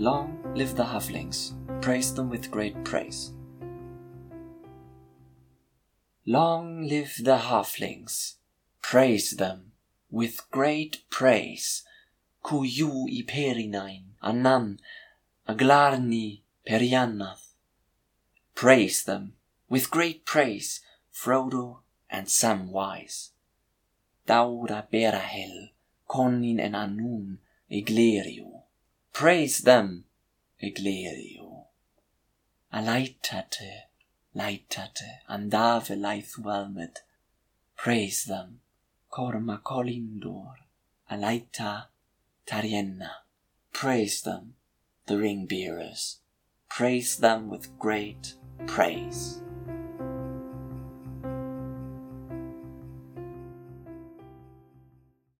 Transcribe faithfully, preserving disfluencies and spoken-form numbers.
Long live the halflings, praise them with great praise. Long live the halflings, praise them with great praise. Kuju I perinain, anan, aglarni periannath. Praise them with great praise, Frodo and Samwise. Daura berahel, conin en anun, eglerio. Praise them, eglerio. Alaitate, laitate, andave laithwalmed. Praise them, corma colindor, alaita tarienna. Praise them, the ring bearers. Praise them with great praise.